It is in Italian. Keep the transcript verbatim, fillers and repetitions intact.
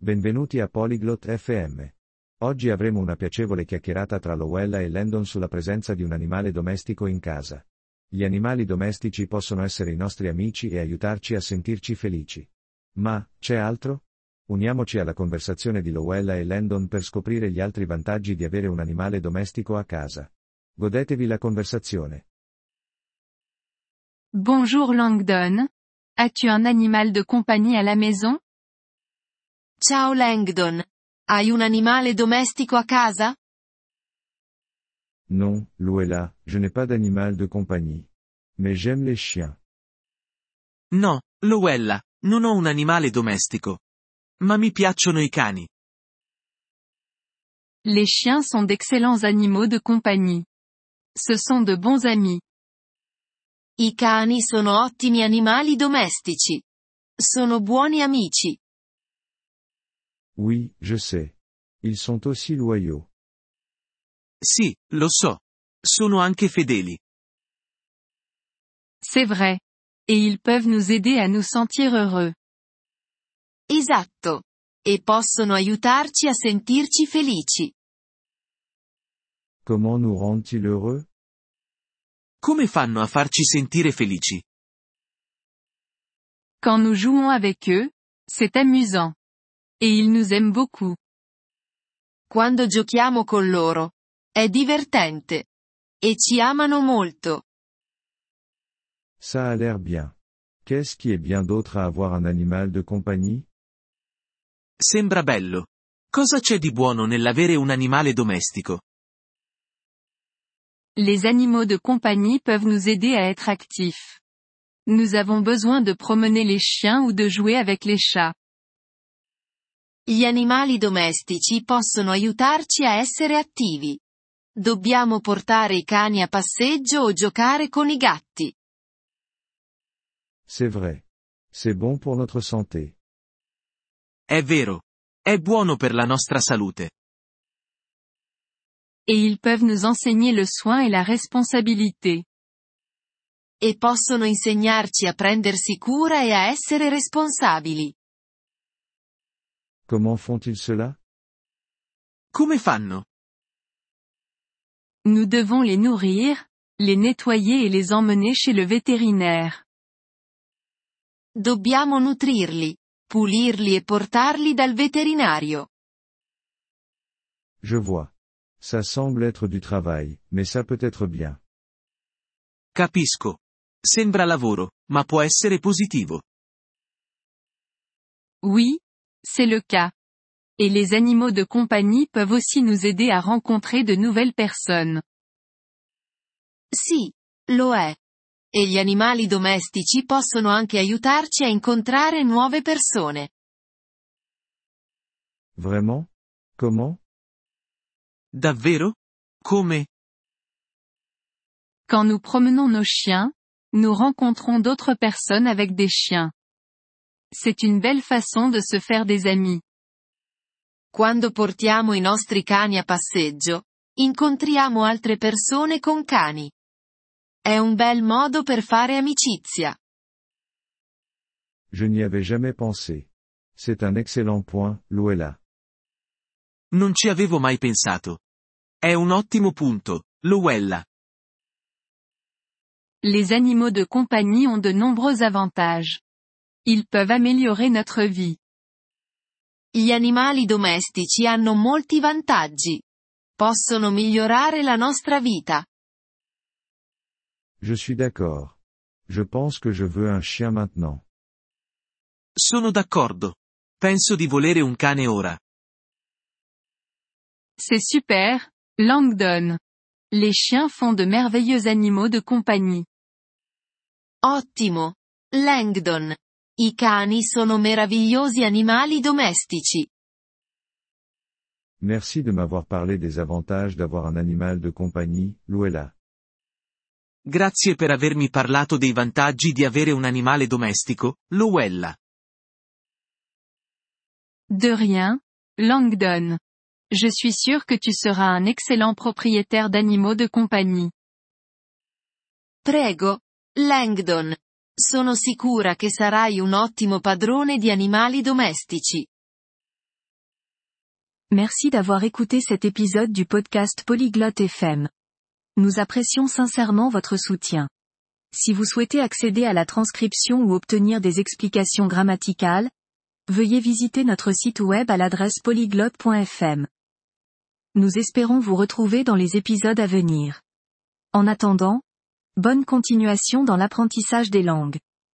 Benvenuti a Polyglot F M. Oggi avremo una piacevole chiacchierata tra Lowella e Landon sulla presenza di un animale domestico in casa. Gli animali domestici possono essere i nostri amici e aiutarci a sentirci felici. Ma, c'è altro? Uniamoci alla conversazione di Lowella e Landon per scoprire gli altri vantaggi di avere un animale domestico a casa. Godetevi la conversazione. Bonjour Langdon. As-tu un animal de compagnie à la maison? Ciao Langdon. Hai un animale domestico a casa? Non, Lowella, je n'ai pas d'animal de compagnie. Mais j'aime les chiens. No, Lowella, non ho un animale domestico. Ma mi piacciono i cani. Les chiens sont d'excellents animaux de compagnie. Ce sont de bons amis. I cani sono ottimi animali domestici. Sono buoni amici. Oui, je sais. Ils sont aussi loyaux. Sì, lo so. Sono anche fedeli. C'est vrai. Et ils peuvent nous aider à nous sentir heureux. Esatto. E possono aiutarci a sentirci felici. Comment nous rendent-ils heureux? Come fanno a farci sentire felici? Quand nous jouons avec eux, c'est amusant. Et ils nous aiment beaucoup. Quando giochiamo con loro. È divertente. E ci amano molto. Ça a l'air bien. Qu'est-ce qui est bien d'autre à avoir un animal de compagnie? Sembra bello. Cosa c'è di buono nell'avere un animale domestico? Les animaux de compagnie peuvent nous aider à être actifs. Nous avons besoin de promener les chiens ou de jouer avec les chats. Gli animali domestici possono aiutarci a essere attivi. Dobbiamo portare i cani a passeggio o giocare con i gatti. C'est vrai. C'est bon pour notre santé. È vero. È buono per la nostra salute. Et ils peuvent nous enseigner le soin et la responsabilité. E possono insegnarci a prendersi cura e a essere responsabili. Comment font-ils cela? Come fanno? Nous devons les nourrir, les nettoyer et les emmener chez le vétérinaire. Dobbiamo nutrirli, pulirli e portarli dal veterinario. Je vois. Ça semble être du travail, mais ça peut être bien. Capisco. Sembra lavoro, ma può essere positivo. Oui, c'est le cas. Et les animaux de compagnie peuvent aussi nous aider à rencontrer de nouvelles personnes. Sì, lo è. E gli animali domestici possono anche aiutarci a incontrare nuove persone. Vraiment? Comment? Davvero? Come? Quand nous promenons nos chiens, nous rencontrons d'autres personnes avec des chiens. C'est une belle façon de se faire des amis. Quando portiamo i nostri cani a passeggio, incontriamo altre persone con cani. È un bel modo per fare amicizia. Je n'y avais jamais pensé. C'est un excellent point, Lowella. Non ci avevo mai pensato. È un ottimo punto, Lowella. Les animaux de compagnie ont de nombreux avantages. Ils peuvent améliorer notre vie. Gli animali domestici hanno molti vantaggi. Possono migliorare la nostra vita. Je suis d'accord. Je pense que je veux un chien maintenant. Sono d'accordo. Penso di volere un cane ora. C'est super, Langdon. Les chiens font de merveilleux animaux de compagnie. Ottimo. Langdon. I cani sono meravigliosi animali domestici. Merci de m'avoir parlé des avantages d'avoir un animal de compagnie, Lowella. Grazie per avermi parlato dei vantaggi di avere un animale domestico, Lowella. De rien, Langdon. Je suis sûr que tu seras un excellent propriétaire d'animaux de compagnie. Prego, Langdon. Sono sicura che sarai un ottimo padrone di animali domestici. Merci d'avoir écouté cet épisode du podcast Polyglotte F M. Nous apprécions sincèrement votre soutien. Si vous souhaitez accéder à la transcription ou obtenir des explications grammaticales, veuillez visiter notre site web à l'adresse polyglotte point f m. Nous espérons vous retrouver dans les épisodes à venir. En attendant, bonne continuation dans l'apprentissage des langues.